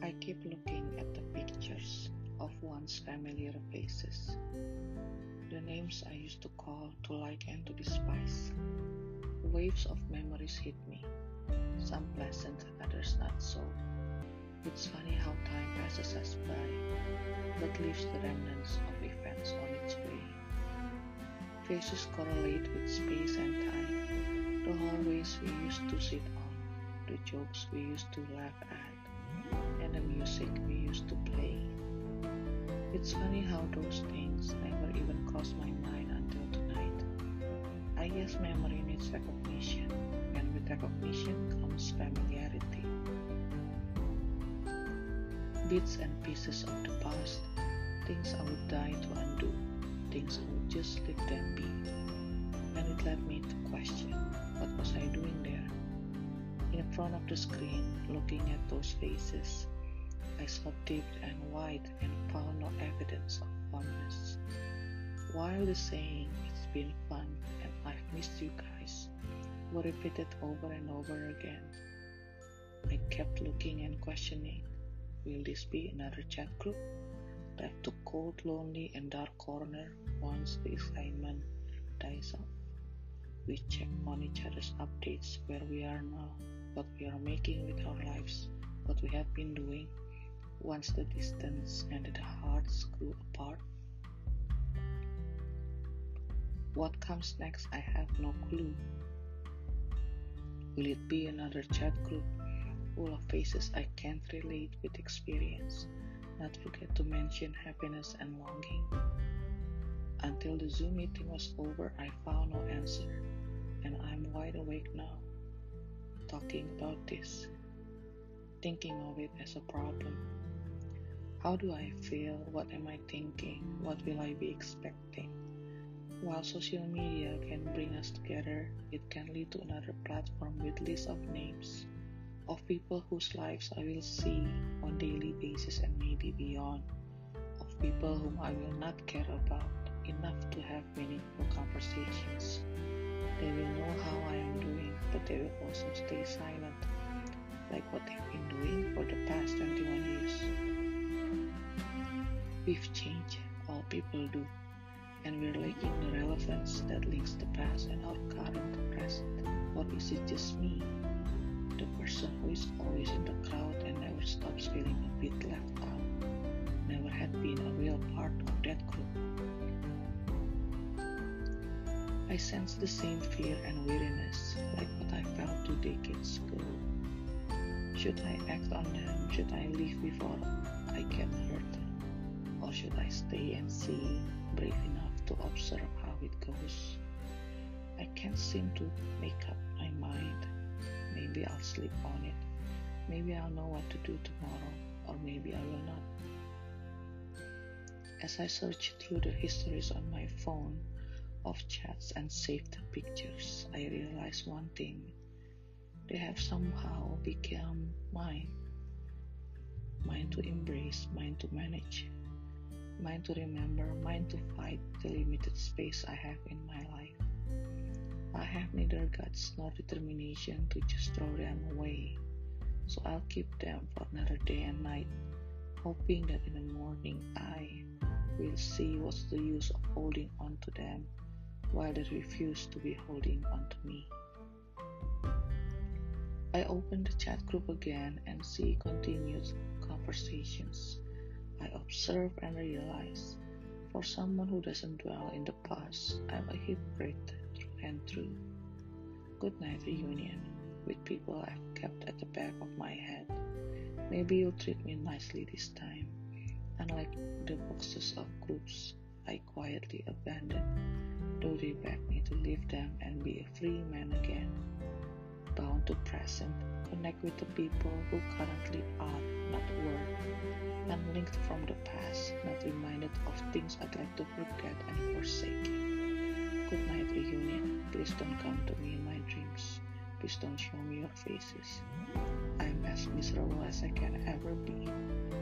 I keep looking at the pictures of once familiar faces, the names I used to call, to like, and to despise. Waves of memories hit me, some pleasant, others not so. It's funny how time passes us by, but leaves the remnants of events on its way. Faces correlate with space and time, the hallways we used to sit on, the jokes we used to laugh at, and the music we used to play. It's funny how those things never even crossed my mind until tonight. I guess memory needs recognition, and with recognition comes familiarity. Bits and pieces of the past, things I would die to undo, things I would just let them be. And it led me to question, what was I doing there? In front of the screen, looking at those faces, I saw deep and wide and found no evidence of fondness. While the saying, "It's been fun and I've missed you guys," were repeated over and over again, I kept looking and questioning, will this be another chat group? Left to cold, lonely, and dark corner once the excitement dies off. We check on each other's updates, where we are now, what we are making with our lives, what we have been doing. Once the distance and the hearts grew apart. What comes next, I have no clue. Will it be another chat group full of faces I can't relate with experience? Not forget to mention happiness and longing. Until the Zoom meeting was over, I found no answer, and I'm wide awake now, talking about this, thinking of it as a problem. How do I feel? What am I thinking? What will I be expecting? While social media can bring us together, it can lead to another platform with lists of names of people whose lives I will see on daily basis and maybe beyond, of people whom I will not care about enough to have meaningful conversations. They will know how I am doing, but they will also stay silent, like what they've been doing for the past 21 years. We've changed, all people do, and we're lacking the relevance that links the past and our current present. Or is it just me, the person who is always in the crowd and never stops feeling a bit left out, never had been a real part of that group? I sense the same fear and weariness, like what I felt 2 decades ago. Should I act on them? Should I leave before I get hurt? Or should I stay and see, brave enough to observe how it goes? I can't seem to make up my mind. Maybe I'll sleep on it. Maybe I'll know what to do tomorrow, or maybe I will not. As I search through the histories on my phone of chats and saved pictures, I realize one thing. They have somehow become mine. Mine to embrace, mine to manage, mine to remember, mine to fight the limited space I have in my life. I have neither guts nor determination to just throw them away, so I'll keep them for another day and night, hoping that in the morning I will see what's the use of holding on to them while they refuse to be holding on to me. I open the chat group again and see continued conversations. I observe and realize, for someone who doesn't dwell in the past, I'm a hypocrite through and through. Goodnight reunion with people I've kept at the back of my head. Maybe you'll treat me nicely this time, unlike the boxes of groups I quietly abandoned, though they beg me to leave them and be a free man again. Bound to present, connect with the people who currently are, not were, unlinked from the past, not reminded of things I'd like to forget and forsake. Good night reunion, please don't come to me in my dreams, please don't show me your faces. I'm as miserable as I can ever be.